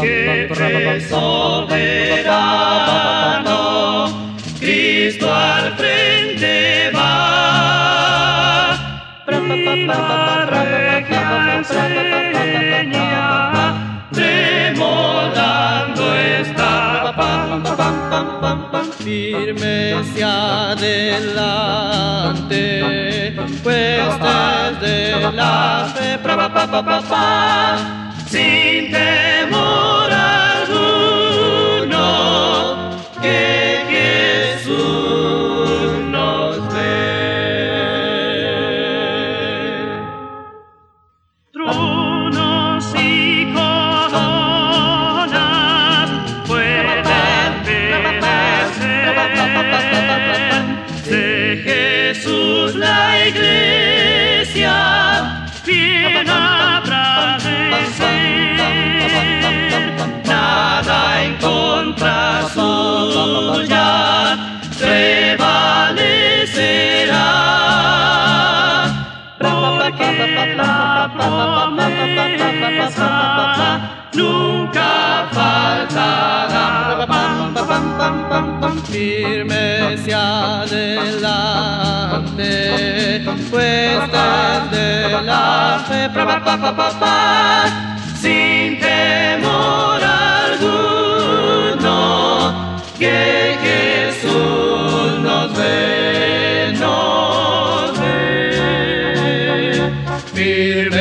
Siempre soberano, Cristo al frente va. Remoldando está, firme hacia adelante, pues desde la fe, sin temor alguno, que Jesús nos ve. Tronos y coronas pueden perecer, de Jesús la iglesia bien habrá de ser. Nada en contra suya prevalecerá, porque la promesa nunca faltará. Firme hacia adelante, pues desde la fe, sin temor alguno, que Jesús nos ve, nos ve. Firme